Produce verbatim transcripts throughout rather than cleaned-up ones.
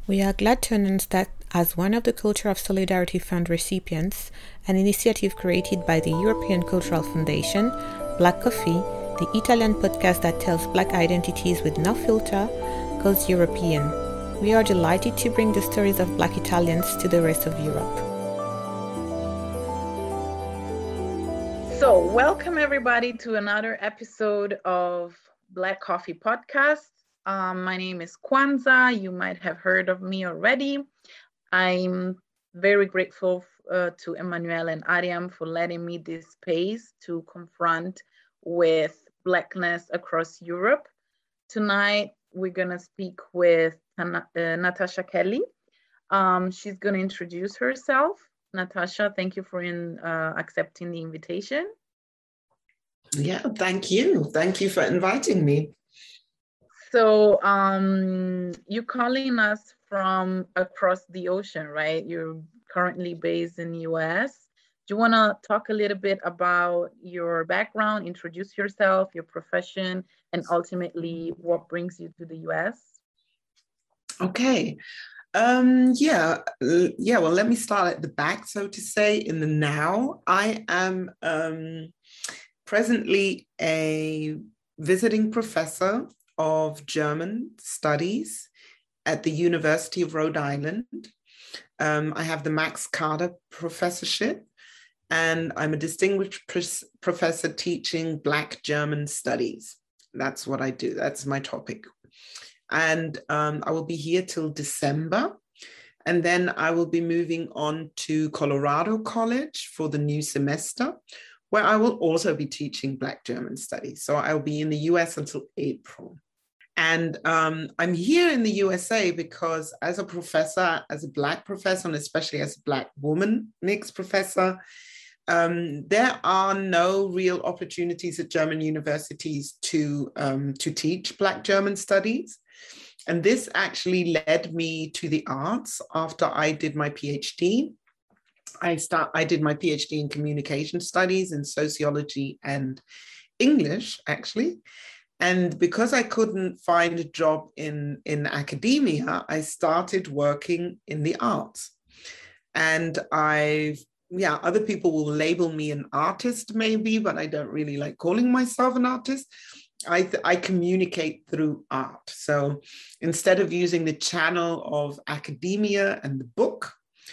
We are glad to announce that, as one of the Culture of Solidarity Fund recipients, an initiative created by the European Cultural Foundation, Black Coffee, the Italian podcast that tells Black identities with no filter, goes European. We are delighted to bring the stories of Black Italians to the rest of Europe. So, welcome everybody to another episode of Black Coffee Podcast. Um, my name is Kwanzaa. You might have heard of me already. I'm very grateful uh, to Emmanuel and Ariam for letting me this space to confront with Blackness across Europe. Tonight, we're going to speak with uh, Natasha Kelly. Um, she's going to introduce herself. Natasha, thank you for in, uh, accepting the invitation. Yeah, thank you. Thank you for inviting me. So um, you're calling us from across the ocean, right? You're currently based in the U S. Do you want to talk a little bit about your background, introduce yourself, your profession, and ultimately what brings you to the U S? Okay. Um, yeah, yeah, well, let me start at the back, so to say, in the now. I am um, presently a visiting professor of German studies at the University of Rhode Island. Um, I have the Max Kade Professorship, and I'm a distinguished pr- professor teaching Black German studies. That's what I do. That's my topic. And um, I will be here till December. And then I will be moving on to Colorado College for the new semester, where I will also be teaching Black German studies. So I'll be in the U S until April. And um, I'm here in the U S A because as a professor, as a Black professor, and especially as a Black woman mixed professor, um, there are no real opportunities at German universities to, um, to teach Black German studies. And this actually led me to the arts after I did my PhD. I start. I did my PhD in communication studies in sociology and English, actually. And because I couldn't find a job in, in academia, I started working in the arts. And I've, yeah, other people will label me an artist maybe, but I don't really like calling myself an artist. I, th- I communicate through art. So instead of using the channel of academia and the book,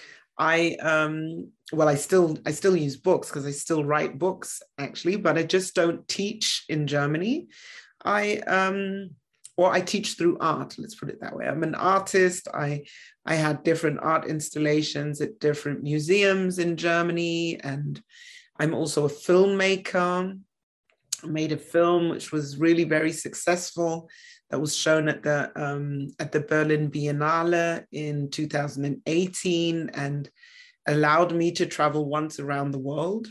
I, um, well, I still, I still use books because I still write books actually, but I just don't teach in Germany. I, um, or I teach through art, let's put it that way. I'm an artist. I, I had different art installations at different museums in Germany, and I'm also a filmmaker. I made a film which was really very successful that was shown at the um, at the Berlin Biennale in two thousand eighteen and allowed me to travel once around the world.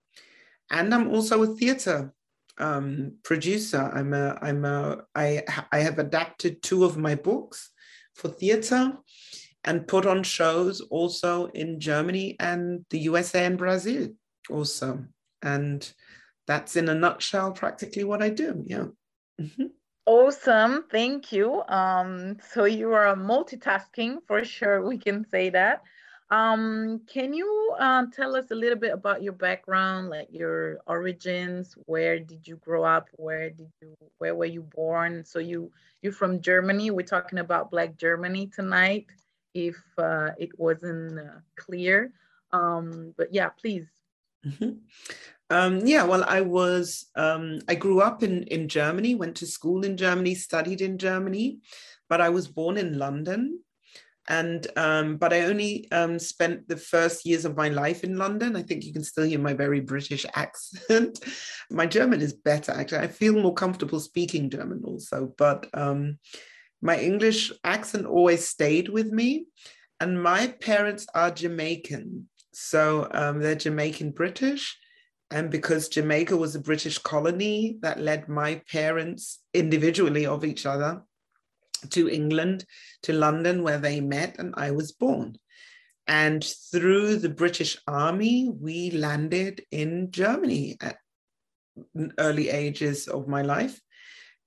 And I'm also a theater um, producer. I'm a I'm a I I have adapted two of my books for theater and put on shows also in Germany and the U S A and Brazil also. And that's in a nutshell practically what I do. Yeah. Mm-hmm. Awesome. Thank you. Um, so you are multitasking for sure. We can say that. Um, can you uh, tell us a little bit about your background, like your origins? Where did you grow up? Where did you, where were you born? So you, you're from Germany. We're talking about Black Germany tonight, if uh, it wasn't uh, clear. Um, but yeah, please. Mm-hmm. Um, yeah, well, I was, um, I grew up in, in Germany, went to school in Germany, studied in Germany, but I was born in London. And, um, but I only um, spent the first years of my life in London. I think you can still hear my very British accent. My German is better, actually. I feel more comfortable speaking German also, but um, my English accent always stayed with me. And my parents are Jamaican. So um, they're Jamaican British. And because Jamaica was a British colony, that led my parents individually of each other to England, to London, where they met, and I was born. And through the British Army, we landed in Germany at early ages of my life.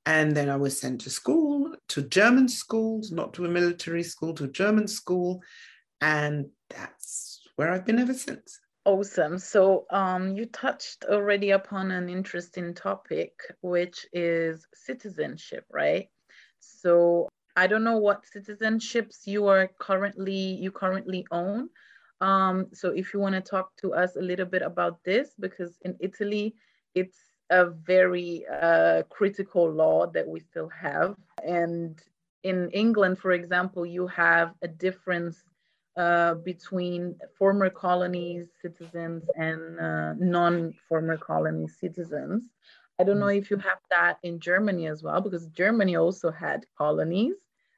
And then I was sent to school, to German schools, not to a military school, to a German school. And that's where I've been ever since. Awesome. So um, you touched already upon an interesting topic, which is citizenship, right? So I don't know what citizenships you are currently, you currently own. Um, so if you want to talk to us a little bit about this, because in Italy, it's a very uh, critical law that we still have. And in England, for example, you have a difference uh, between former colonies citizens and uh, non-former colony citizens. I don't know if you have that in Germany as well, because Germany also had colonies,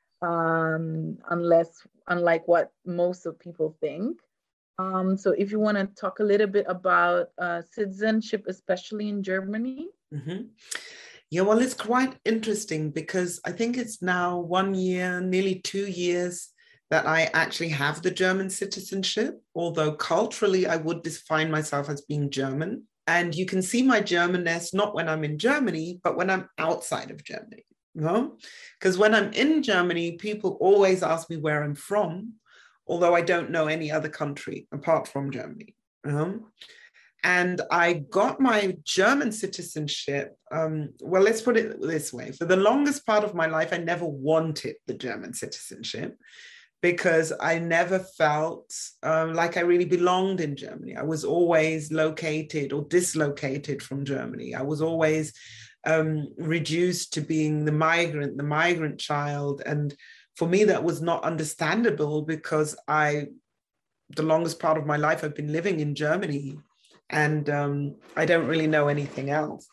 um, unless, unlike what most of people think. Um, so if you want to talk a little bit about uh, citizenship, especially in Germany. Mm-hmm. Yeah, well, it's quite interesting because I think it's now one year, nearly two years that I actually have the German citizenship, although culturally I would define myself as being German. And you can see my Germanness not when I'm in Germany, but when I'm outside of Germany. You know? Because when I'm in Germany, people always ask me where I'm from, although I don't know any other country apart from Germany. You know? And I got my German citizenship. Um, well, let's put it this way. For the longest part of my life, I never wanted the German citizenship because I never felt um, like I really belonged in Germany. I was always located or dislocated from Germany. I was always um, reduced to being the migrant, the migrant child. And for me, that was not understandable because I, the longest part of my life, I've been living in Germany. And um, I don't really know anything else.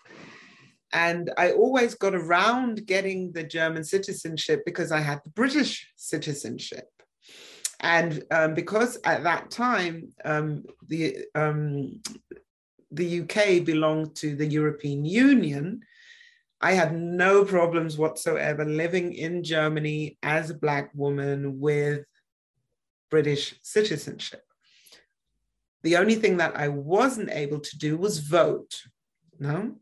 And I always got around getting the German citizenship because I had the British citizenship. And um, because at that time, um, the, um, the U K belonged to the European Union, I had no problems whatsoever living in Germany as a Black woman with British citizenship. The only thing that I wasn't able to do was vote, no?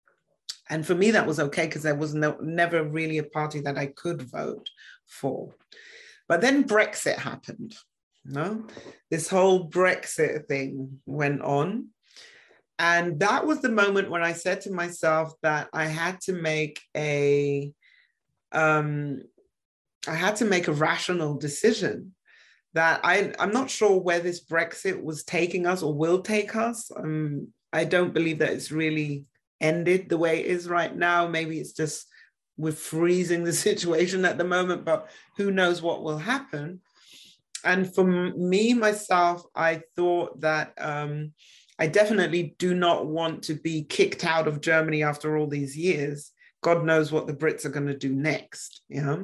And for me, that was okay because there was no, never really a party that I could vote for. But then Brexit happened, no? This whole Brexit thing went on. And that was the moment when I said to myself that I had to make a, um, I had to make a rational decision. That I, I'm not sure where this Brexit was taking us or will take us. Um, I don't believe that it's really ended the way it is right now. Maybe it's just we're freezing the situation at the moment, but who knows what will happen. And for me, myself, I thought that um, I definitely do not want to be kicked out of Germany after all these years. God knows what the Brits are going to do next, you know?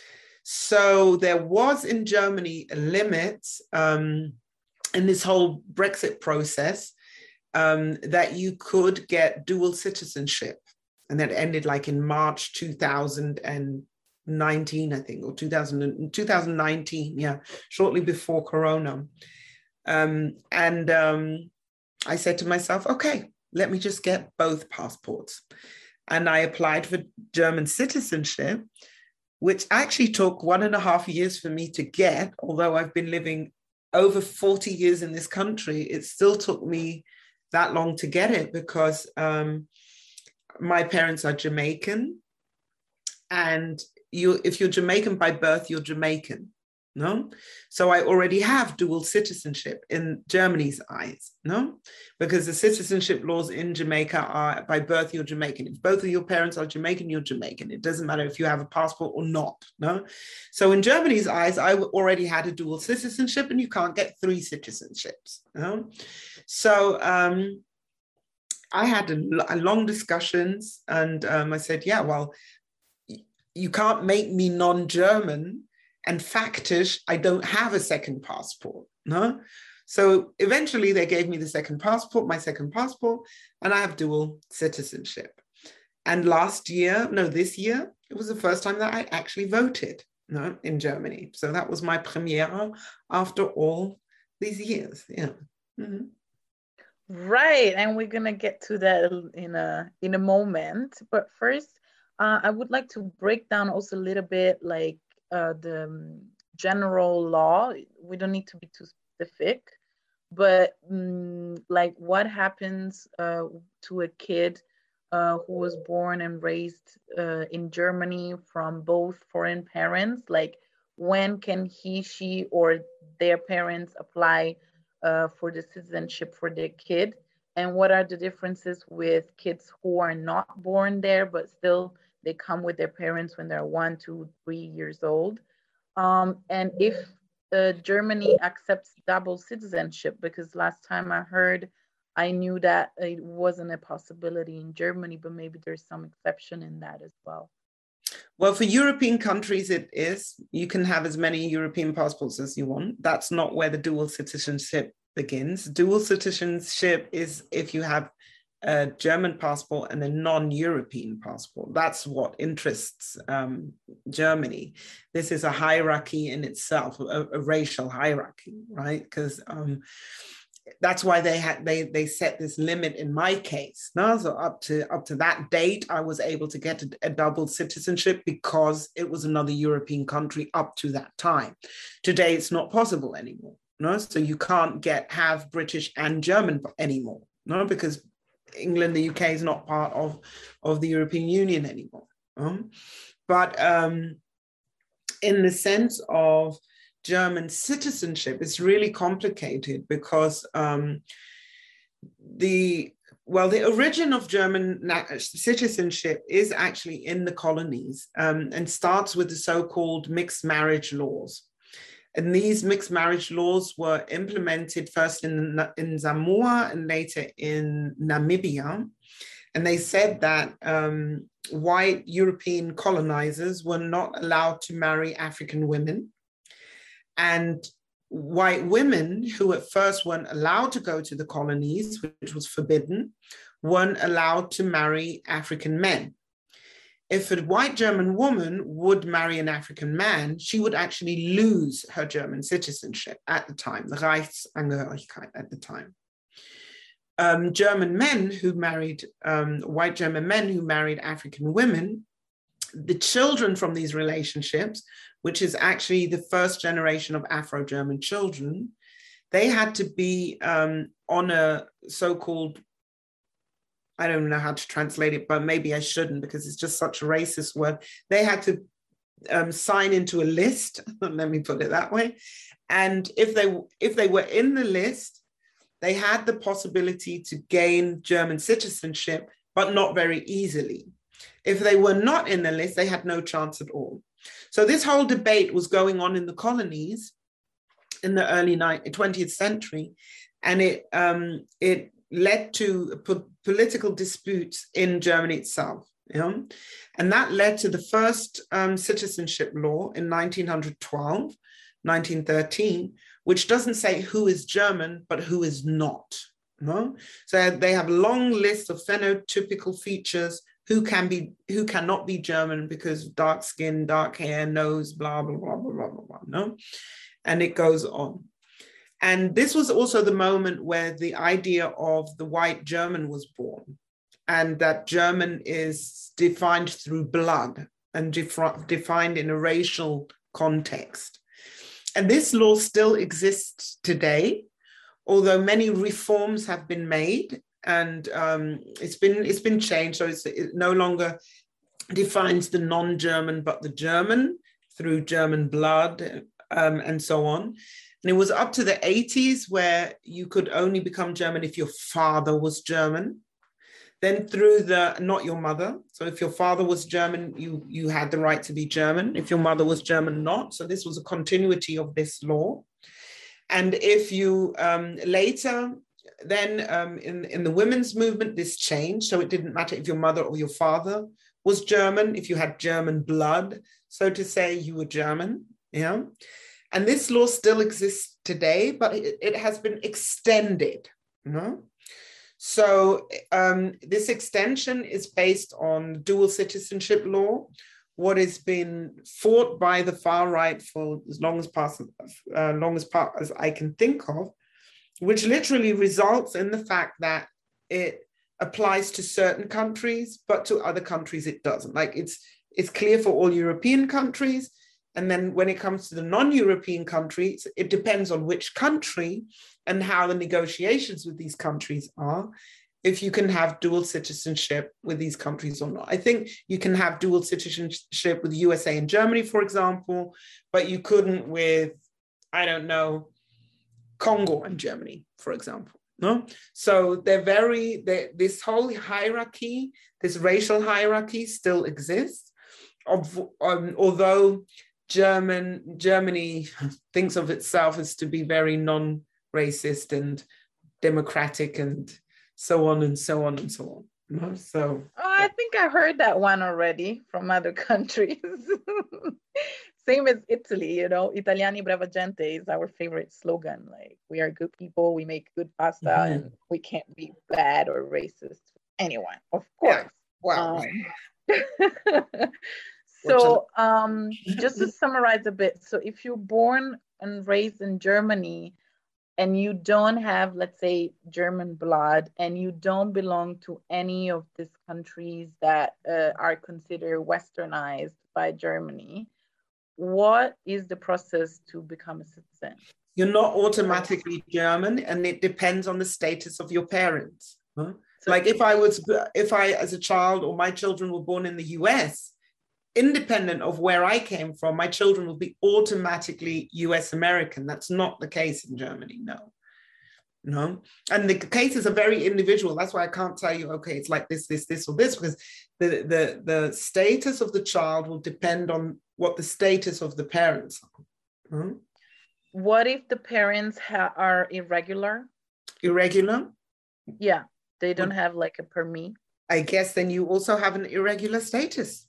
So there was in Germany a limit um, in this whole Brexit process um, that you could get dual citizenship. And that ended like in March two thousand nineteen, I think, or two thousand, twenty nineteen, yeah, shortly before Corona. Um, and um, I said to myself, okay, let me just get both passports. And I applied for German citizenship, which actually took one and a half years for me to get. Although I've been living over forty years in this country, it still took me that long to get it because um, my parents are Jamaican. And you, if you're Jamaican by birth, you're Jamaican, no? So I already have dual citizenship in Germany's eyes, no? Because the citizenship laws in Jamaica are by birth, you're Jamaican. If both of your parents are Jamaican, you're Jamaican. It doesn't matter if you have a passport or not, no? So in Germany's eyes, I already had a dual citizenship and you can't get three citizenships, no? So um, I had a, a long discussions and um, I said, yeah, well, you can't make me non-German and factish, I don't have a second passport, no? So eventually they gave me the second passport, my second passport, and I have dual citizenship. And last year, no, this year, it was the first time that I actually voted, no, in Germany. So that was my premiere after all these years, yeah. Mm-hmm. Right, and we're gonna get to that in a in a moment. But first, Uh, I would like to break down also a little bit like uh, the um, general law. We don't need to be too specific, but um, like what happens uh, to a kid uh, who was born and raised uh, in Germany from both foreign parents? Like when can he, she, or their parents apply uh, for the citizenship for their kid? And what are the differences with kids who are not born there, but still they come with their parents when they're one, two, three years old? Um, and if uh, Germany accepts double citizenship, because last time I heard, I knew that it wasn't a possibility in Germany, but maybe there's some exception in that as well. Well, for European countries, it is. You can have as many European passports as you want. That's not where the dual citizenship begins. Dual citizenship is if you have a German passport and a non-European passport. That's what interests um, Germany. This is a hierarchy in itself, a, a racial hierarchy, right? Because um, that's why they had they they set this limit in my case. No, so up to up to that date, I was able to get a, a double citizenship because it was another European country up to that time. Today, it's not possible anymore. No, so you can't get have British and German anymore. No, because England, the U K is not part of of the European Union anymore. Um, but um, in the sense of German citizenship, it's really complicated because um, the, well, the origin of German citizenship is actually in the colonies um, and starts with the so-called mixed marriage laws. And these mixed marriage laws were implemented first in, in Samoa and later in Namibia. And they said that um, white European colonizers were not allowed to marry African women. And white women who at first weren't allowed to go to the colonies, which was forbidden, weren't allowed to marry African men. If a white German woman would marry an African man, she would actually lose her German citizenship at the time, the Reichsangehörigkeit at the time. Um, German men who married, um, white German men who married African women, the children from these relationships, which is actually the first generation of Afro-German children, they had to be um, on a so-called, I don't know how to translate it, but maybe I shouldn't because it's just such a racist word. They had to um, sign into a list, let me put it that way. And if they, if they were in the list, they had the possibility to gain German citizenship, but not very easily. If they were not in the list, they had no chance at all. So this whole debate was going on in the colonies in the early twentieth century, and it, um, it led to po- political disputes in Germany itself. You know? And that led to the first um, citizenship law in nineteen twelve, nineteen thirteen, which doesn't say who is German, but who is not. No? So they have a long list of phenotypical features who can be, who cannot be German because dark skin, dark hair, nose, blah, blah, blah, blah, blah, blah, blah, no? And it goes on. And this was also the moment where the idea of the white German was born, and that German is defined through blood and def- defined in a racial context. And this law still exists today, although many reforms have been made. And um, it's been it's been changed, so it's, it no longer defines the non-German, but the German through German blood um, and so on. And it was up to the eighties where you could only become German if your father was German. Then through the, not your mother. So if your father was German, you, you had the right to be German. If your mother was German, not. So this was a continuity of this law. And if you um, later, then um, in, in the women's movement, this changed. So it didn't matter if your mother or your father was German, if you had German blood, so to say, you were German, you know? And this law still exists today, but it, it has been extended, you know? So um, this extension is based on dual citizenship law, what has been fought by the far right for as long as, past, uh, long as, part, as I can think of, which literally results in the fact that it applies to certain countries, but to other countries it doesn't. Like it's it's clear for all European countries. And then when it comes to the non-European countries, it depends on which country and how the negotiations with these countries are, if you can have dual citizenship with these countries or not. I think you can have dual citizenship with U S A and Germany, for example, but you couldn't with, I don't know, Congo and Germany, for example. No, so they're very, they're, this whole hierarchy, this racial hierarchy still exists. Of, um, although German Germany thinks of itself as to be very non-racist and democratic and so on and so on and so on. No? So oh, I think I heard that one already from other countries. Same as Italy, you know, Italiani brava gente is our favorite slogan. Like, we are good people, we make good pasta, mm-hmm. and we can't be bad or racist to anyone, of course. Yeah. Wow. Um, so um, just to summarize a bit, so if you're born and raised in Germany and you don't have, let's say, German blood, and you don't belong to any of these countries that uh, are considered westernized by Germany, what is the process to become a citizen? You're not automatically German, and it depends on the status of your parents. Huh? So, like if I was, if I as a child or my children were born in the U S, independent of where I came from, my children will be automatically U S American. That's not the case in Germany, no. No, and the cases are very individual. That's why I can't tell you, okay, it's like this, this, this, or this, because the, the, the status of the child will depend on what the status of the parents are. Hmm? What if the parents ha- are irregular? Irregular? Yeah, they don't have like a permit. I guess then you also have an irregular status.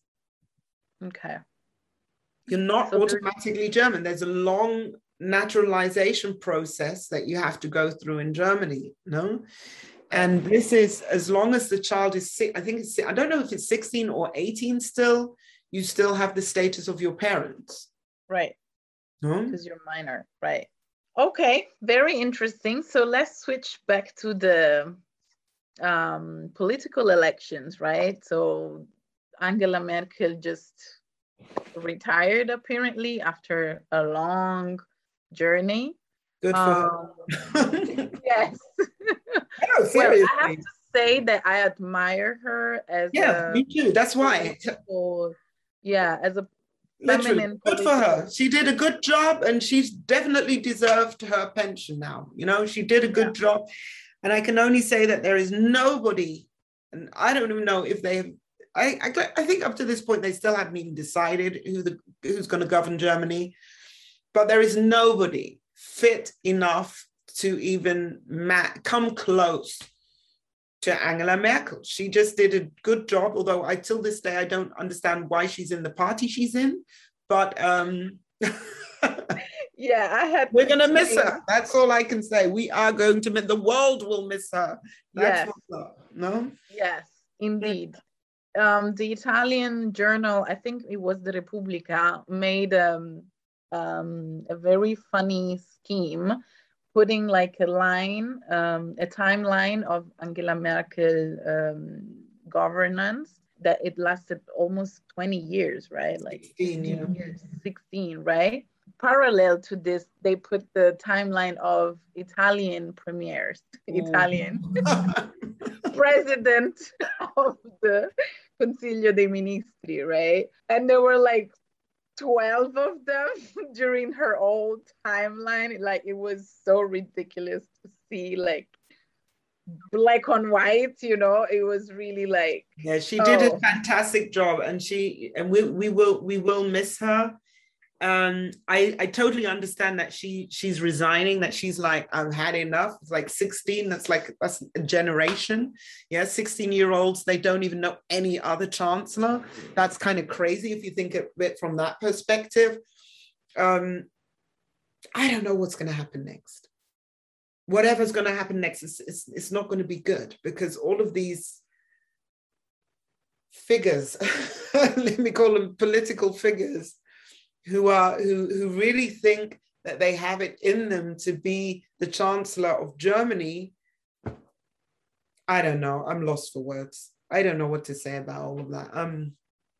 Okay. You're not so automatically there's... German. There's a long naturalization process that you have to go through in Germany, no? And this is, as long as the child is, I think it's, I don't know if it's sixteen or eighteen still, you still have the status of your parents. Right. No? Because you're minor, right. Okay, very interesting. So let's switch back to the um, political elections, right? So Angela Merkel just retired apparently after a long journey. Good for um, her. Yes. No, seriously. Well, I have to say that I admire her as yeah, a me too. That's why. political, yeah, as a literally feminine good for her. She did a good job, and she's definitely deserved her pension now. You know, she did a good yeah. job, and I can only say that there is nobody, and I don't even know if they have. I, I, I think up to this point they still haven't even decided who the who's going to govern Germany, but there is nobody fit enough to even ma- come close to Angela Merkel. She just did a good job, although I till this day I don't understand why she's in the party she's in, but um yeah, I had we're gonna miss her. That's all I can say. We are going to miss, the world will miss her. That's yes. what's up. No? Yes, indeed. Um, the Italian journal, I think it was the Repubblica, made um, um, a very funny scheme, putting like a line, um, a timeline of Angela Merkel um, governance, that it lasted almost twenty years, right? Like sixteen, yeah. years, sixteen, right? Parallel to this, they put the timeline of Italian premiers, Italian president of the Consiglio dei Ministri, right? And there were like twelve of them during her old timeline. Like, it was so ridiculous to see, like, black on white, you know. It was really like, yeah, she did oh. a fantastic job, and she and we we will we will miss her. Um, I, I totally understand that she she's resigning, that she's like, I've had enough. It's like sixteen, that's like, that's a generation. Yeah, sixteen year olds, they don't even know any other chancellor. That's kind of crazy if you think of it from that perspective. Um, I don't know what's going to happen next. Whatever's going to happen next, is it's, it's not going to be good, because all of these figures, let me call them political figures, who are who who really think that they have it in them to be the chancellor of Germany, I don't know. I'm lost for words. I don't know what to say about all of that. Um.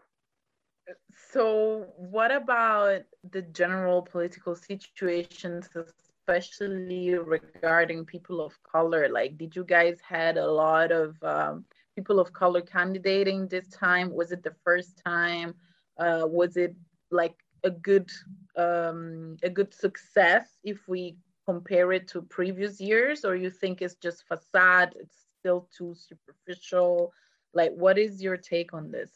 So what about the general political situations, especially regarding people of color? Like, did you guys had a lot of um, people of color candidating this time? Was it the first time? Uh, was it like a good um, a good success if we compare it to previous years, or you think it's just facade? It's still too superficial. Like, what is your take on this?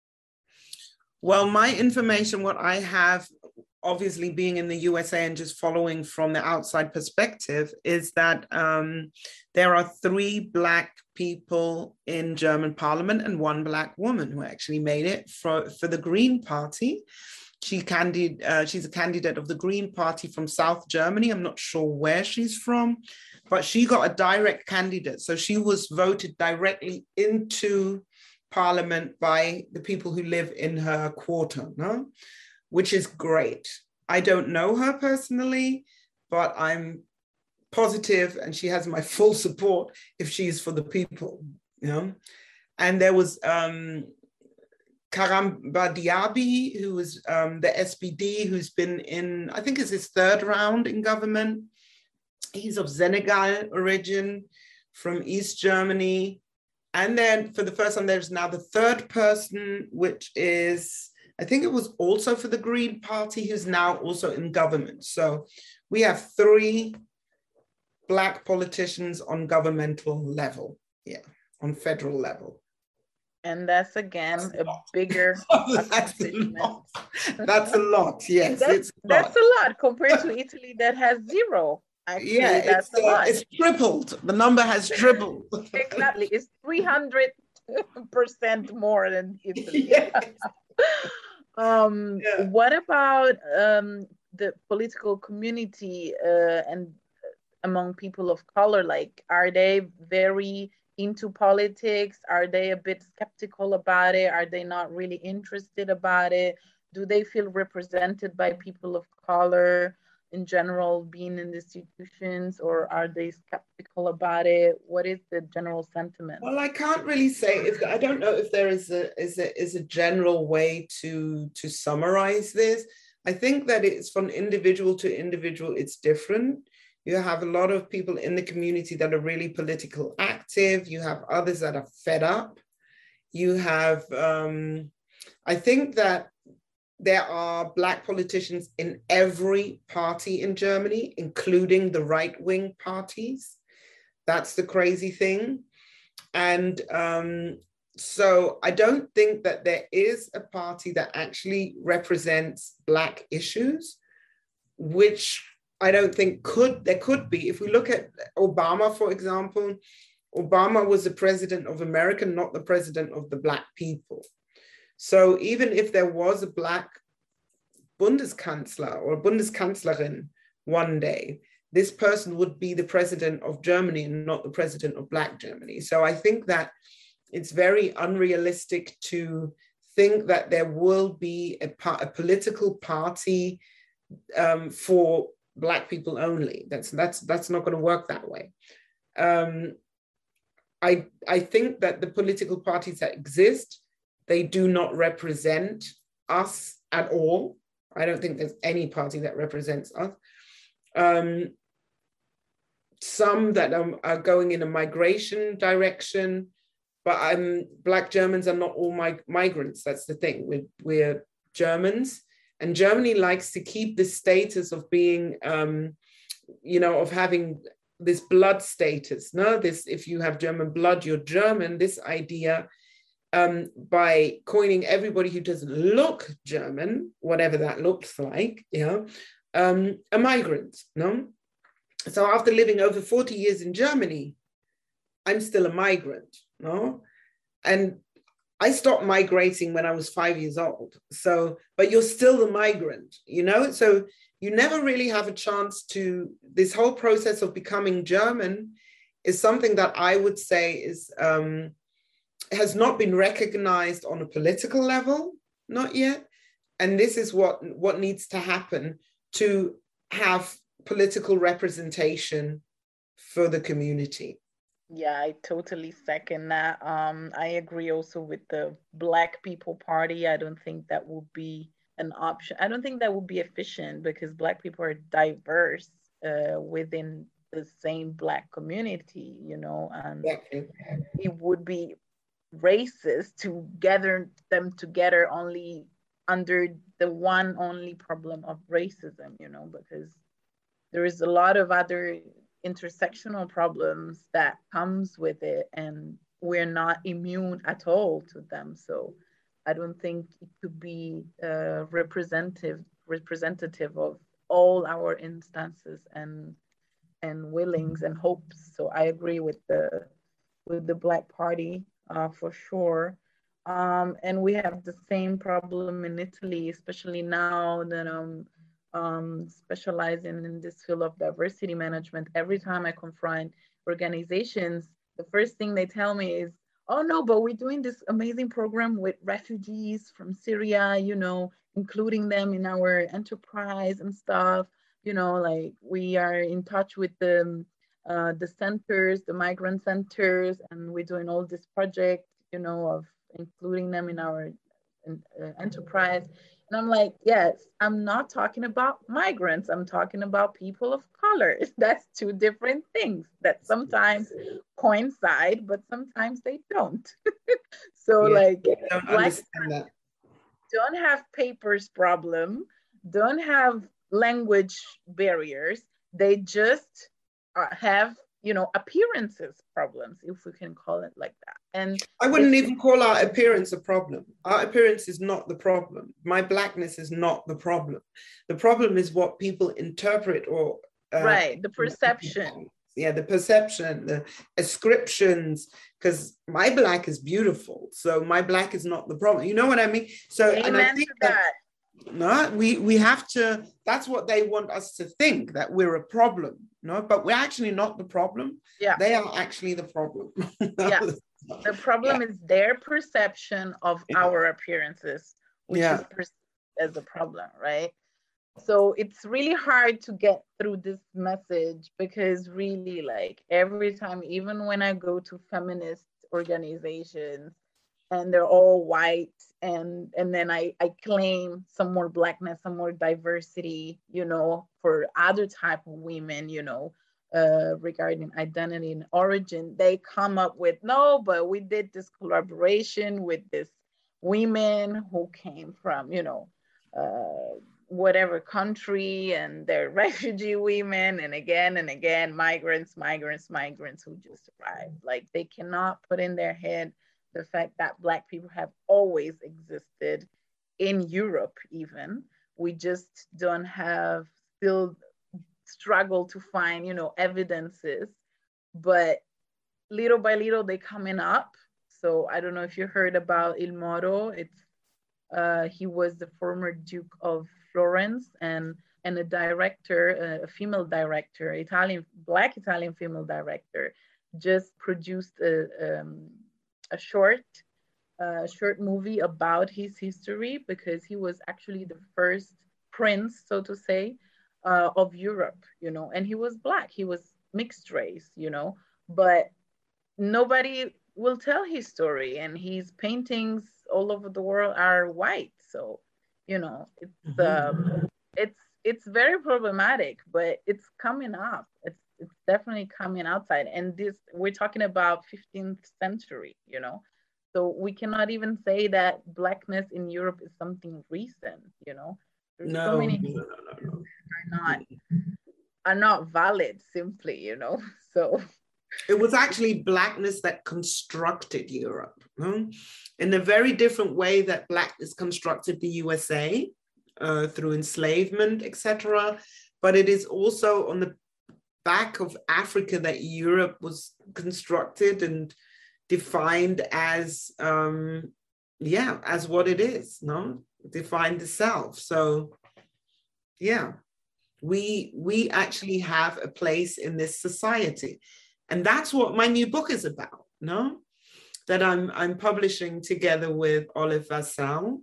Well, my information, what I have, obviously being in the U S A and just following from the outside perspective, is that um, there are three Black people in German parliament and one Black woman who actually made it for, for the Green Party. She candid, uh, she's a candidate of the Green Party from South Germany. I'm not sure where she's from, but she got a direct candidate. So she was voted directly into parliament by the people who live in her quarter, no? Which is great. I don't know her personally, but I'm positive and she has my full support if she's for the people, you know? And there was um, Karamba Diaby, who was um, the S P D, who's been in, I think it's his third round in government. He's of Senegal origin, from East Germany. And then for the first time, there's now the third person, which is, I think it was also for the Green Party, who's now also in government. So we have three Black politicians on governmental level, yeah, on federal level. And that's again that's a, a bigger that's a lot. That's a lot, yes. That's, it's a that's lot. a lot compared to Italy that has zero. Actually, yeah, that's it's, a lot. Uh, it's tripled. The number has tripled. Exactly. It's three hundred percent more than Italy. Yes. um, yeah. What about um, the political community uh, and among people of color? Like, are they very into politics? Are they a bit skeptical about it? Are they not really interested about it? Do they feel represented by people of color in general being in institutions, or are they skeptical about it? What is the general sentiment? Well, I can't really say if I don't know if there is a is a is a general way to to summarize this. I think that it's from individual to individual, it's different. You have a lot of people in the community that are really political active. You have others that are fed up. You have, um, I think that there are Black politicians in every party in Germany, including the right-wing parties. That's the crazy thing. And um, so I don't think that there is a party that actually represents Black issues, which I don't think could, there could be. If we look at Obama, for example, Obama was the president of America, not the president of the Black people. So even if there was a Black Bundeskanzler or Bundeskanzlerin one day, this person would be the president of Germany and not the president of Black Germany. So I think that it's very unrealistic to think that there will be a, a political party um, for Black people only. That's that's that's not going to work that way. Um, I I think that the political parties that exist, they do not represent us at all. I don't think there's any party that represents us. Um, some that are, are going in a migration direction, but um, Black Germans are not all mig- migrants. That's the thing. We're, we're Germans. And Germany likes to keep the status of being, um, you know, of having this blood status. No, this, if you have German blood, you're German. This idea, um, by coining everybody who doesn't look German, whatever that looks like, you know, um, a migrant. No, so after living over forty years in Germany, I'm still a migrant. No, and I stopped migrating when I was five years old. So, but you're still the migrant, you know? So you never really have a chance to, this whole process of becoming German is something that I would say is, um, has not been recognized on a political level, not yet. And this is what, what needs to happen to have political representation for the community. Yeah, I totally second that. Um, I agree also with the Black People Party. I don't think that would be an option. I don't think that would be efficient because Black people are diverse uh, within the same Black community, you know, and Exactly. it would be racist to gather them together only under the one only problem of racism, you know, because there is a lot of other intersectional problems that comes with it, and we're not immune at all to them. So I don't think it could be uh, representative representative of all our instances and and willings and hopes. So I agree with the with the Black Party uh, for sure. Um, and we have the same problem in Italy, especially now that I'm um, specializing in this field of diversity management. Every time I confront organizations, the first thing they tell me is, oh no, but we're doing this amazing program with refugees from Syria, you know, including them in our enterprise and stuff. You know, like we are in touch with the uh, the centers, the migrant centers, and we're doing all this project, you know, of including them in our uh, enterprise. And I'm like, yes, I'm not talking about migrants. I'm talking about people of color. That's two different things that sometimes coincide, but sometimes they don't. So Yeah, like I don't Black understand that. don't have papers problem, don't have language barriers. They just uh, have, you know, appearances problems, if we can call it like that. And I wouldn't it's even call our appearance a problem. Our appearance is not the problem. My blackness is not the problem. The problem is what people interpret or uh, right, the perception. Yeah, the perception, the ascriptions, because my black is beautiful. So my black is not the problem. You know what I mean? So, Amen and I think to that, that. no, we we have to, that's what they want us to think, that we're a problem, no, but we're actually not the problem. Yeah. They are actually the problem. Yeah. The problem yeah. is their perception of Yeah. our appearances, which Yeah. is perceived as a problem, right? So it's really hard to get through this message because really, like, every time, even when I go to feminist organizations and they're all white, and and then I, I claim some more blackness, some more diversity, you know, for other type of women, you know, uh, regarding identity and origin, they come up with, no, but we did this collaboration with this women who came from, you know, uh, whatever country, and they're refugee women, and again and again, migrants, migrants, migrants who just arrived. Like, they cannot put in their head the fact that Black people have always existed in Europe even. We just don't have, still struggle to find, you know, evidences, but little by little they coming up. So I don't know if you heard about Il Moro. It's uh, he was the former Duke of Florence, and and a director, a female director, Italian, Black Italian female director, just produced a, um, a short, uh, short movie about his history, because he was actually the first prince, so to say, uh, of Europe, you know, and he was Black, he was mixed race, you know, but nobody will tell his story, and his paintings all over the world are white. So, you know, it's um, it's it's very problematic, but it's coming up. It's it's definitely coming outside. And this, we're talking about fifteenth century, you know. So we cannot even say that Blackness in Europe is something recent, you know. There's No, so many no, no, no, no. are not are not valid simply, you know. So it was actually Blackness that constructed Europe, hmm? in a very different way that Blackness constructed the U S A uh, through enslavement, et cetera. But it is also on the back of Africa that Europe was constructed and defined as, um, yeah, as what it is, no? Defined the self. So, yeah, we we actually have a place in this society. And that's what my new book is about, no? That I'm I'm publishing together with Olive Vassal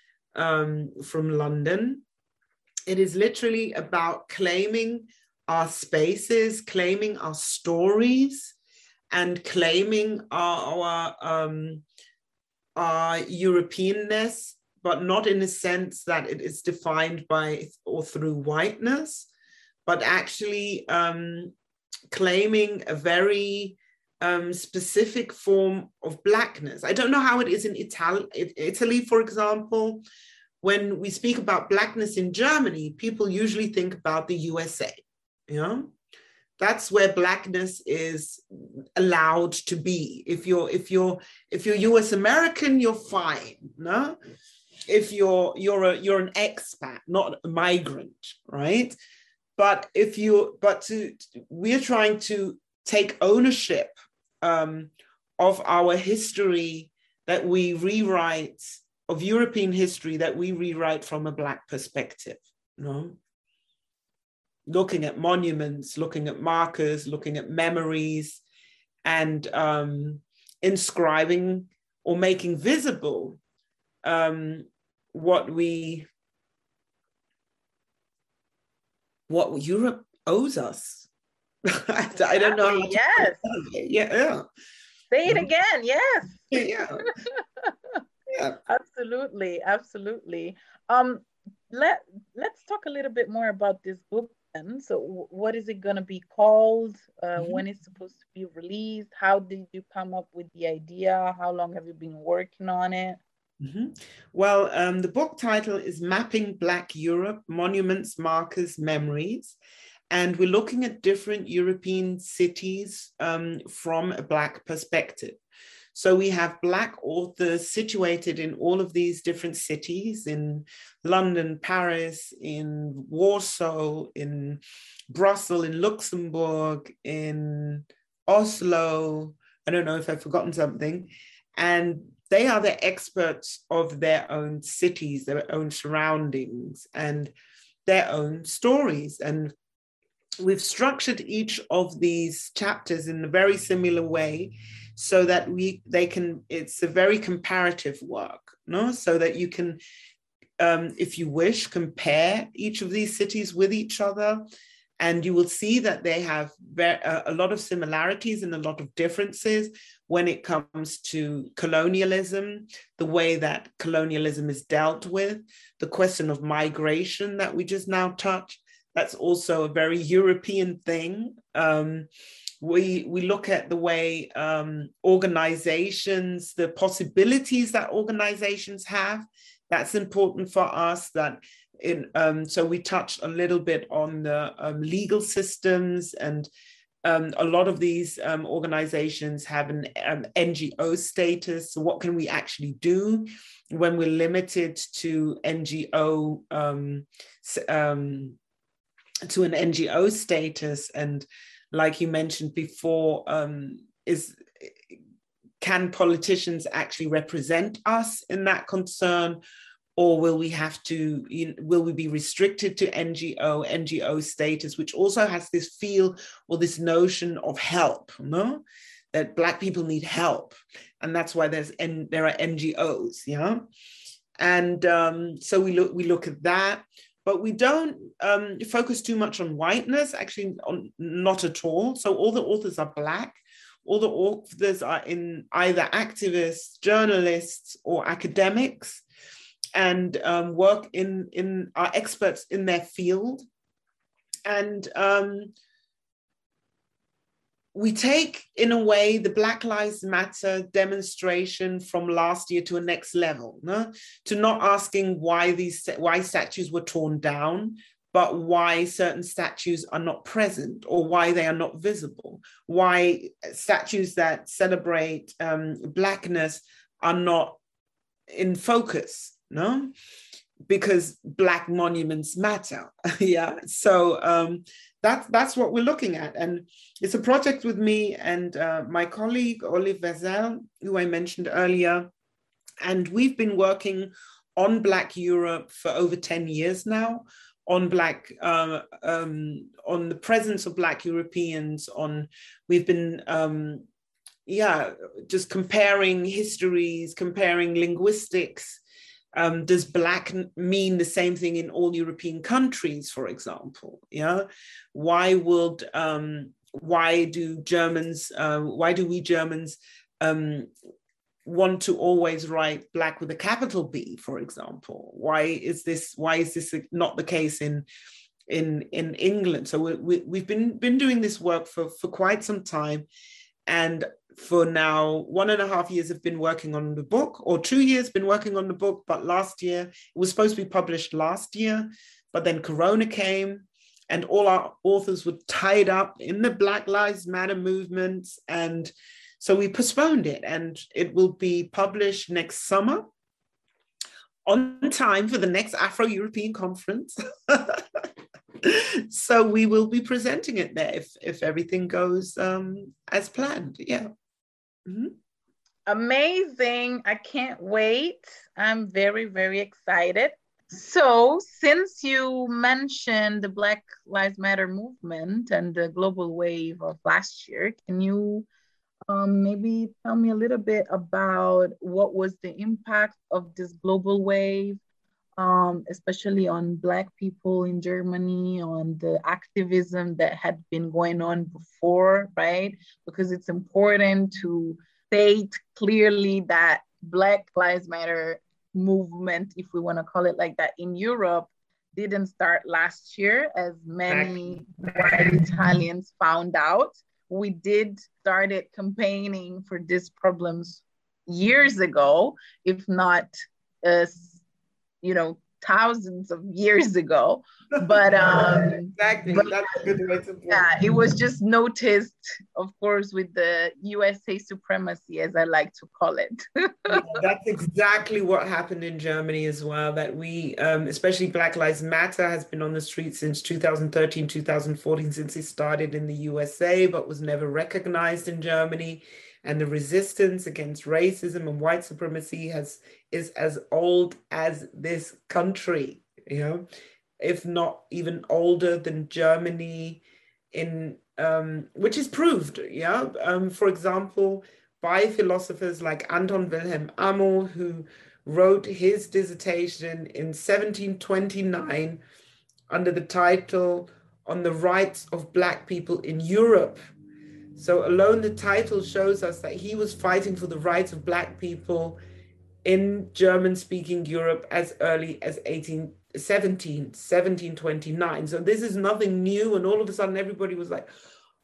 um, from London. It is literally about claiming our spaces, claiming our stories, and claiming our, our, um, our Europeanness, but not in a sense that it is defined by or through whiteness, but actually um, claiming a very um, specific form of Blackness. I don't know how it is in Italy, Italy, for example. When we speak about Blackness in Germany, people usually think about the U S A, you know? That's where Blackness is allowed to be. If you're if you're if you're U S American, you're fine, no? If you're you're a you're an expat, not a migrant, right? But if you but to we're trying to take ownership um, of our history that we rewrite, of European history that we rewrite from a Black perspective, you know? Looking at monuments, looking at markers, looking at memories, and um, inscribing or making visible um, what we, what Europe owes us. I, I don't know. How to yes. Yeah, yeah. Say it again. Yes. Yeah. Yeah. Absolutely, absolutely. Um, let let's talk a little bit more about this book. So what is it going to be called? Uh, mm-hmm. When it's supposed to be released? How did you come up with the idea? How long have you been working on it? Mm-hmm. Well, um, the book title is Mapping Black Europe, Monuments, Markers, Memories. And we're looking at different European cities um, from a Black perspective. So we have Black authors situated in all of these different cities, in London, Paris, in Warsaw, in Brussels, in Luxembourg, in Oslo. I don't know if I've forgotten something. And they are the experts of their own cities, their own surroundings, and their own stories. And we've structured each of these chapters in a very similar way, so that we they can it's a very comparative work, no? So that you can, um, if you wish, compare each of these cities with each other, and you will see that they have very, uh, a lot of similarities and a lot of differences when it comes to colonialism, the way that colonialism is dealt with, the question of migration that we just now touched. That's also a very European thing. Um, We, we look at the way um, organizations, the possibilities that organizations have. That's important for us. That in, um, so we touched a little bit on the um, legal systems, and um, a lot of these um, organizations have an um, N G O status. So what can we actually do when we're limited to N G O, um, um, to an N G O status? And like you mentioned before, um, is can politicians actually represent us in that concern, or will we have to, you know, will we be restricted to N G O, N G O status, which also has this feel or this notion of help, no? That Black people need help, and that's why there's N, there are N G Os, yeah. And um, so we look we look at that. But we don't um, focus too much on whiteness, actually on, not at all. So all the authors are Black. All the authors are in either activists, journalists, or academics, and um, work in, in, are experts in their field. And um, we take, in a way, the Black Lives Matter demonstration from last year to a next level, no? To not asking why these why statues were torn down, but why certain statues are not present, or why they are not visible, why statues that celebrate um, Blackness are not in focus, no? Because Black monuments matter, yeah. So um, that's that's what we're looking at, and it's a project with me and uh, my colleague Olive Vezel, who I mentioned earlier, and we've been working on Black Europe for over ten years now, on Black, uh, um, on the presence of Black Europeans. On we've been, um, yeah, just comparing histories, comparing linguistics. Um, does Black mean the same thing in all European countries, for example? Yeah, why would um, why do Germans, uh, why do we Germans um, want to always write Black with a capital B, for example? Why is this, why is this not the case in in in England? So we, we, we've been been doing this work for for quite some time, and for now one and a half years have been working on the book, or two years been working on the book. But last year, it was supposed to be published last year, but then Corona came and all our authors were tied up in the Black Lives Matter movements, and so we postponed it, and it will be published next summer on time for the next Afro-European conference. So we will be presenting it there if, if everything goes um, as planned. Yeah. Mm-hmm. Amazing. I can't wait. I'm very, very excited. So since you mentioned the Black Lives Matter movement and the global wave of last year, can you um, maybe tell me a little bit about what was the impact of this global wave, um, especially on Black people in Germany, on the activism that had been going on before, right? Because it's important to state clearly that Black Lives Matter movement, if we want to call it like that, in Europe didn't start last year, as many white Italians found out. We did started campaigning for these problems years ago, if not, uh, you know, thousands of years ago. But um, exactly, but, that's a good way to put it. Yeah, it was just noticed, of course, with the U S A supremacy, as I like to call it. Yeah, that's exactly what happened in Germany as well, that we, um, especially Black Lives Matter has been on the street since two thousand thirteen, two thousand fourteen, since it started in the U S A, but was never recognized in Germany. And the resistance against racism and white supremacy has is as old as this country, you know, if not even older than Germany, in um, which is proved, yeah. Um, for example, by philosophers like Anton Wilhelm Amo, who wrote his dissertation in seventeen twenty-nine under the title On the Rights of Black People in Europe. So alone the title shows us that he was fighting for the rights of Black people in German-speaking Europe as early as eighteen seventeen, seventeen twenty-nine. So this is nothing new, and all of a sudden everybody was like,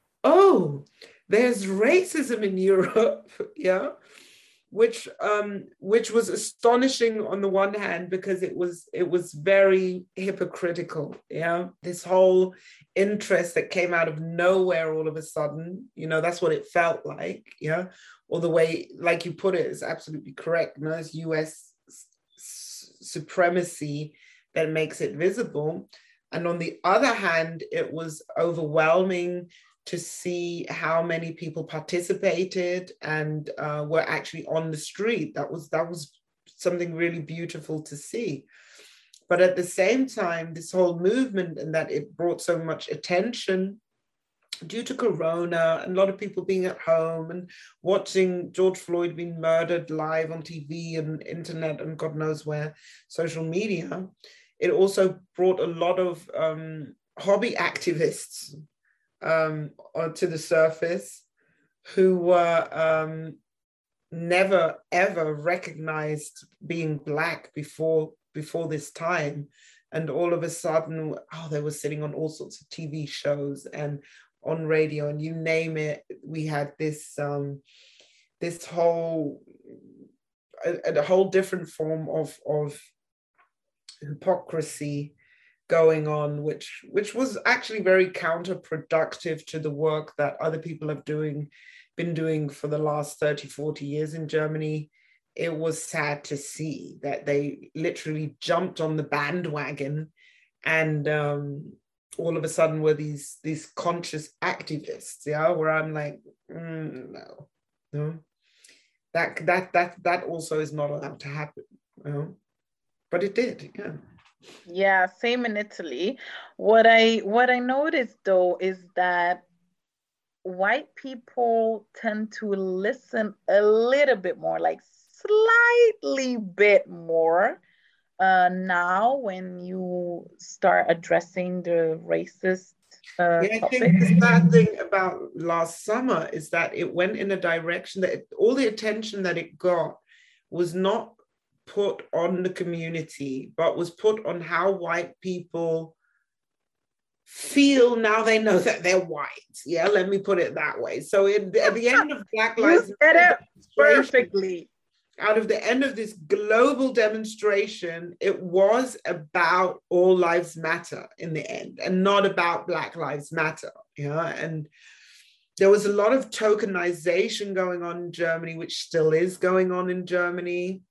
oh, there's racism in Europe, yeah, which um, which was astonishing on the one hand, because it was it was very hypocritical, yeah. This whole interest that came out of nowhere all of a sudden, you know, that's what it felt like, yeah. Or the way, like you put it, is absolutely correct. You know, it's U S supremacy that makes it visible. And on the other hand, it was overwhelming to see how many people participated and uh, were actually on the street. That was, that was something really beautiful to see. But at the same time, this whole movement, and that it brought so much attention due to Corona and a lot of people being at home and watching George Floyd being murdered live on T V and internet and God knows where, social media, it also brought a lot of um, hobby activists um, to the surface, who were um, never ever recognized being Black before before this time. And all of a sudden, oh, they were sitting on all sorts of T V shows and on radio, and you name it. We had this um, this whole a, a whole different form of of hypocrisy going on, which which was actually very counterproductive to the work that other people have doing been doing for the last thirty, forty years in Germany. It was sad to see that they literally jumped on the bandwagon, and um, all of a sudden were these these conscious activists, yeah, where I'm like, mm, no, no, that that that that also is not allowed to happen, you know? But it did, yeah. Yeah, same in Italy. What I what I noticed though is that white people tend to listen a little bit more, like slightly bit more uh, now when you start addressing the racist uh, Yeah, I topic. think the sad thing about last summer is that it went in a direction that it, all the attention that it got was not put on the community, but was put on how white people feel now they know that they're white. Yeah, let me put it that way. So it, at the end of Black Lives You said it perfectly. Out of the end of this global demonstration, it was about all lives matter in the end, and not about Black Lives Matter. Yeah, and there was a lot of tokenization going on in Germany, which still is going on in Germany,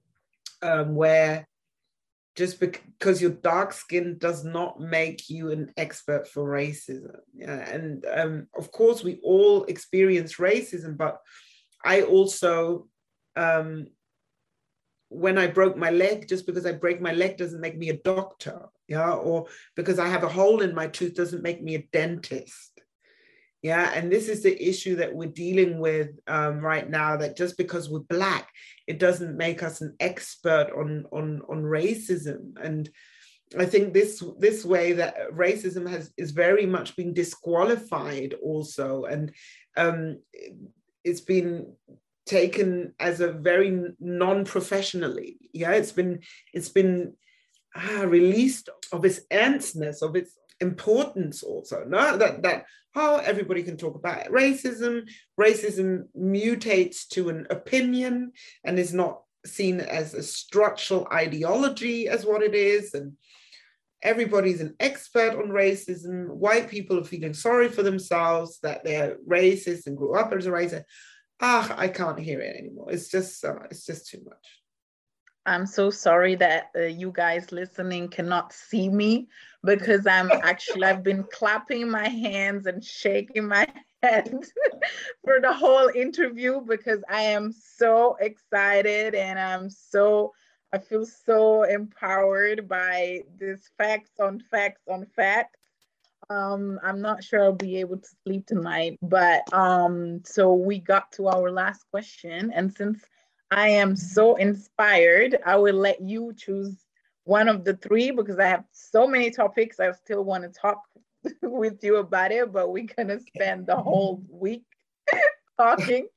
um, where just because you're dark skinned does not make you an expert for racism. Yeah, and um, of course, we all experience racism, but I also, um, when I broke my leg, just because I break my leg doesn't make me a doctor, yeah, or because I have a hole in my tooth doesn't make me a dentist. Yeah, and this is the issue that we're dealing with um, right now, that just because we're Black, it doesn't make us an expert on, on, on racism. And I think this, this way that racism has is very much been disqualified also. And um, it's been taken as a very non-professionally. Yeah, it's been, it's been ah, released of its ernstness, of its importance also. No, that that how everybody can talk about it. Racism, racism mutates to an opinion and is not seen as a structural ideology as what it is. And everybody's an expert on racism. White people are feeling sorry for themselves that they're racist and grew up as a racist. Ah, I can't hear it anymore. It's just uh, it's just too much. I'm so sorry that uh, you guys listening cannot see me, because I'm actually, I've been clapping my hands and shaking my head for the whole interview, because I am so excited and I'm so, I feel so empowered by this facts on facts on facts. Um, I'm not sure I'll be able to sleep tonight, but um, so we got to our last question. And since I am so inspired, I will let you choose one of the three, because I have so many topics I still want to talk with you about it, but we're gonna spend the whole week talking.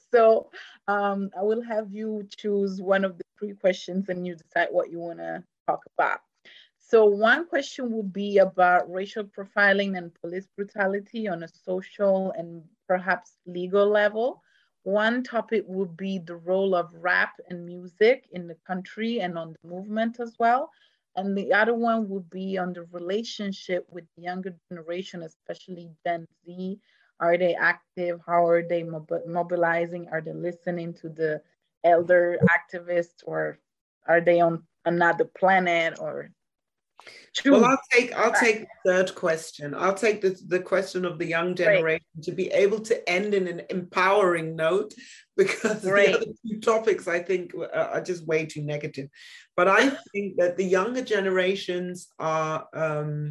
So um, I will have you choose one of the three questions and you decide what you want to talk about. So one question would be about racial profiling and police brutality on a social and perhaps legal level. One topic would be the role of rap and music in the country and on the movement as well. And the other one would be on the relationship with the younger generation, especially Gen Z. Are they active? How are they mob- mobilizing? Are they listening to the elder activists, or are they on another planet? Or Choose. Well, I'll take I'll take the third question. I'll take the, the question of the young generation, Great. To be able to end in an empowering note, because Great. The other two topics I think are just way too negative. But I think that the younger generations are um,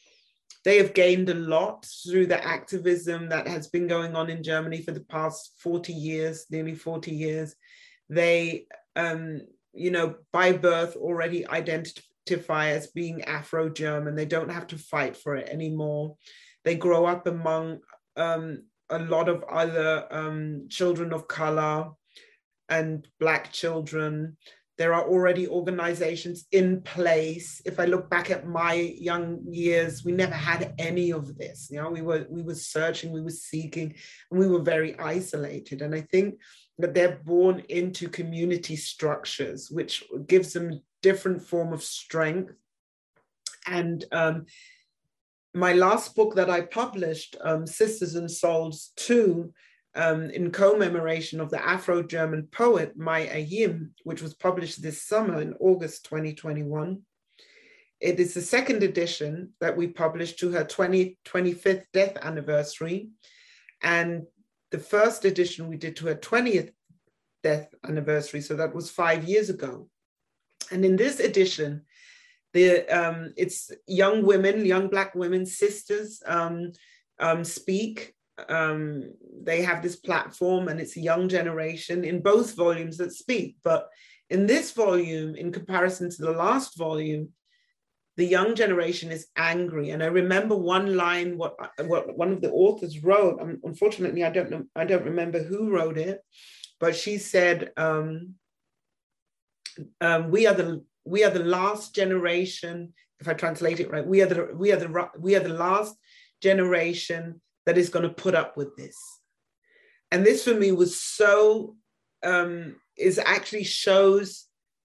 they have gained a lot through the activism that has been going on in Germany for the past forty years, nearly forty years. They, um, you know, by birth already identify as being Afro-German. They don't have to fight for it anymore. They grow up among um, a lot of other um, children of color and Black children. There are already organizations in place. If I look back at my young years, we never had any of this. You know, we were we were searching, we were seeking, and we were very isolated. And I think that they're born into community structures, which gives them different form of strength. And um, my last book that I published, um, Sisters and Souls two, um, in commemoration of the Afro-German poet Mai Ayim, which was published this summer in August twenty twenty-one. It is the second edition that we published to her twenty-fifth death anniversary. And the first edition we did to her twentieth death anniversary, so that was five years ago. And in this edition, the um, it's young women, young Black women, sisters um, um, speak. Um, they have this platform, and it's a young generation in both volumes that speak. But in this volume, in comparison to the last volume, the young generation is angry. And I remember one line, what, what one of the authors wrote, unfortunately, I don't know, I don't remember who wrote it, but she said, um, um, we are the we are the last generation, if I translate it right, we are the we are the we are the last generation that is going to put up with this. And this for me was so, um, is actually shows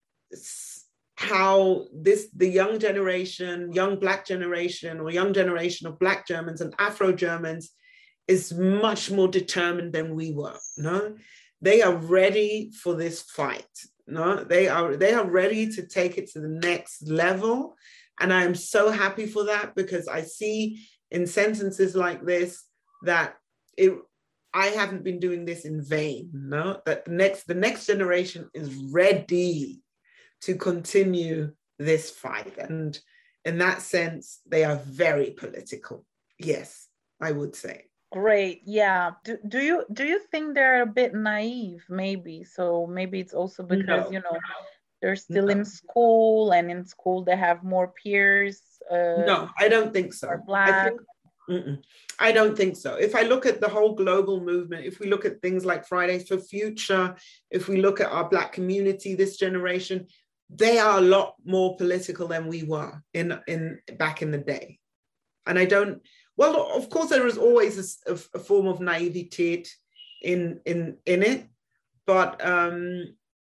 how this, the young generation, young Black generation, or young generation of Black Germans and Afro-Germans is much more determined than we were. No, they are ready for this fight. No, they are, they are ready to take it to the next level. And I am so happy for that, because I see in sentences like this that it, I haven't been doing this in vain. No, that the next, the next generation is ready to continue this fight. And in that sense, they are very political. Yes, I would say. Great. Yeah. Do, do you do you think they're a bit naive, maybe? So maybe it's also because, no. you know, they're still no. in school, and in school they have more peers. Uh, no, I don't think so. Black. I, think, mm-mm. I don't think so. If I look at the whole global movement, if we look at things like Fridays for Future, if we look at our Black community, this generation, they are a lot more political than we were in, in back in the day. And I don't, well, of course, there is always a, a form of naivete in, in, in it, but um,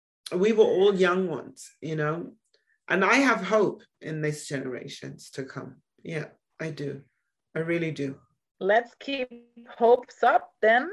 we were all young ones, you know, and I have hope in these generations to come. Yeah, I do. I really do. Let's keep hopes up then.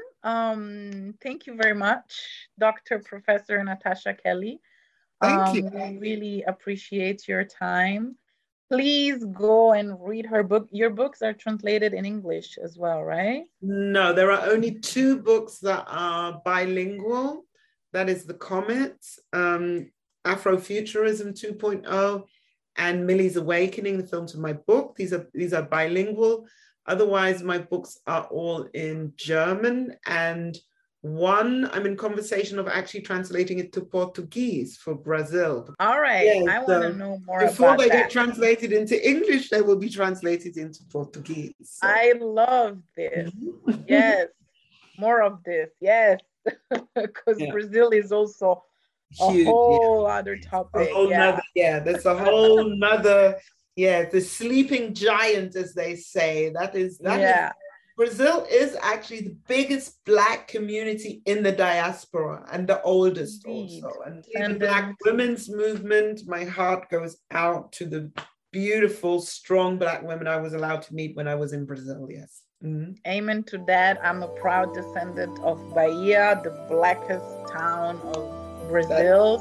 Um, thank you very much, Doctor Professor Natasha Kelly. Thank um, you. We really appreciate your time. Please go and read her book. Your books are translated in English as well, right? No, there are only two books that are bilingual. That is The Comets, um, Afrofuturism two point oh, and Millie's Awakening, the films of my book. These are, these are bilingual. Otherwise, my books are all in German, and one, I'm in conversation of actually translating it to Portuguese for Brazil. All right, yes, I want to so know more about that. Before they get translated into English, they will be translated into Portuguese. So. I love this. Yes, more of this. Yes, because yeah. Brazil is also a Huge, whole yeah. other topic. A whole yeah. Nother, yeah, that's a whole nother, yeah, the sleeping giant, as they say. That is, that yeah. is. Brazil is actually the biggest Black community in the diaspora, and the oldest Indeed. also. And, and the Black women's movement, my heart goes out to the beautiful, strong Black women I was allowed to meet when I was in Brazil, yes. Mm-hmm. Amen to that. I'm a proud descendant of Bahia, the blackest town of Brazil.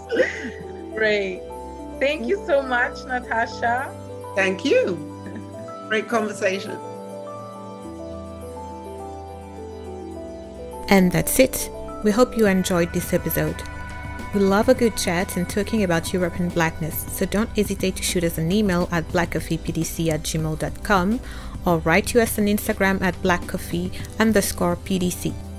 Great. Thank you so much, Natasha. Thank you. Great conversation. And that's it. We hope you enjoyed this episode. We love a good chat and talking about European Blackness, so don't hesitate to shoot us an email at blackcoffeepdc at gmail dot com or write to us on Instagram at blackcoffee underscore pdc.